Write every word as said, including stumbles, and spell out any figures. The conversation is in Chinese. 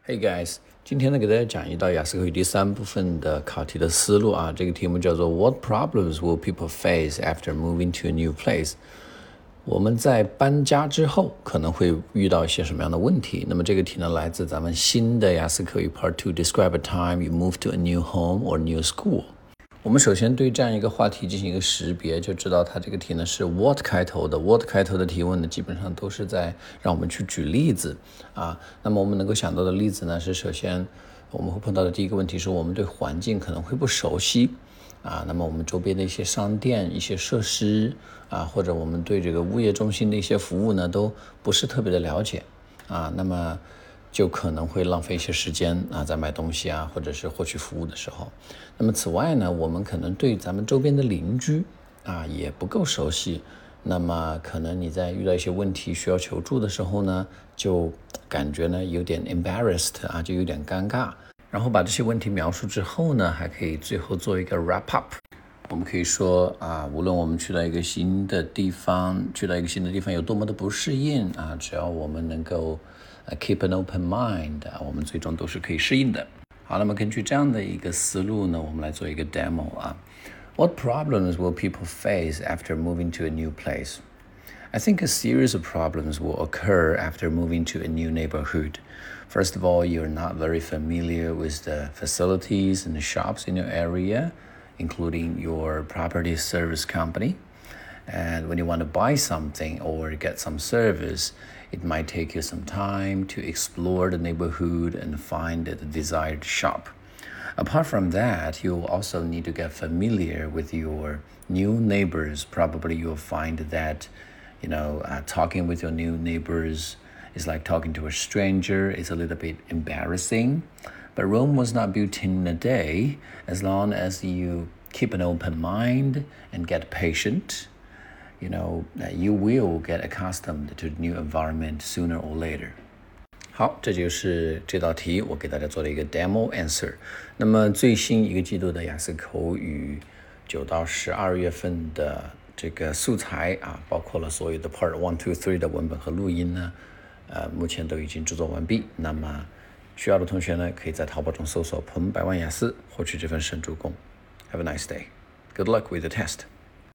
Hey guys，今天呢给大家讲一道雅思口语第三部分的考题的思路啊，这个题目叫做 What problems will people face after moving to a new place？ 我们在搬家之后可能会遇到一些什么样的问题？那么这个题呢来自咱们新的雅思口语 Part Two Describe a time you move to a new home or new school。我们首先对这样一个话题进行一个识别，就知道它这个题呢是 what 开头的 what 开头的提问呢基本上都是在让我们去举例子啊。那么我们能够想到的例子呢是，首先我们会碰到的第一个问题是我们对环境可能会不熟悉啊，那么我们周边的一些商店、一些设施啊，或者我们对这个物业中心的一些服务呢都不是特别的了解啊，那么就可能会浪费一些时间啊，在买东西啊，或者是获取服务的时候。那么此外呢，我们可能对咱们周边的邻居啊也不够熟悉。那么可能你在遇到一些问题需要求助的时候呢，就感觉呢有点 embarrassed 啊，就有点尴尬。然后把这些问题描述之后呢，还可以最后做一个 wrap up。我们可以说啊，无论我们去到一个新的地方，去到一个新的地方有多么的不适应啊，只要我们能够Uh, keep an open mind， 我们最终都是可以适应的。好，那么根据这样的一个思路呢，我们来做一个 demo 啊。What problems will people face after moving to a new place? I think a series of problems will occur after moving to a new neighborhood. First of all, you're not very familiar with the facilities and the shops in your area, including your property service company.And when you want to buy something or get some service, it might take you some time to explore the neighborhood and find the desired shop. Apart from that, you'll also need to get familiar with your new neighbors. Probably you'll find that, you know, uh, talking with your new neighbors is like talking to a stranger. It's a little bit embarrassing. But Rome was not built in a day. As long as you keep an open mind and get patient,You know, you will get accustomed to the new environment sooner or later. 好，这就是这道题我给大家做了一个 demo answer。那么最新一个季度的雅思口语九到十二月份的这个素材啊，包括了所有的 Part One, Two, Three 的文本和录音呢，呃，目前都已经制作完毕。那么需要的同学呢，可以在淘宝中搜索“彭百万雅思”，获取这份神助攻。Have a nice day. Good luck with the test.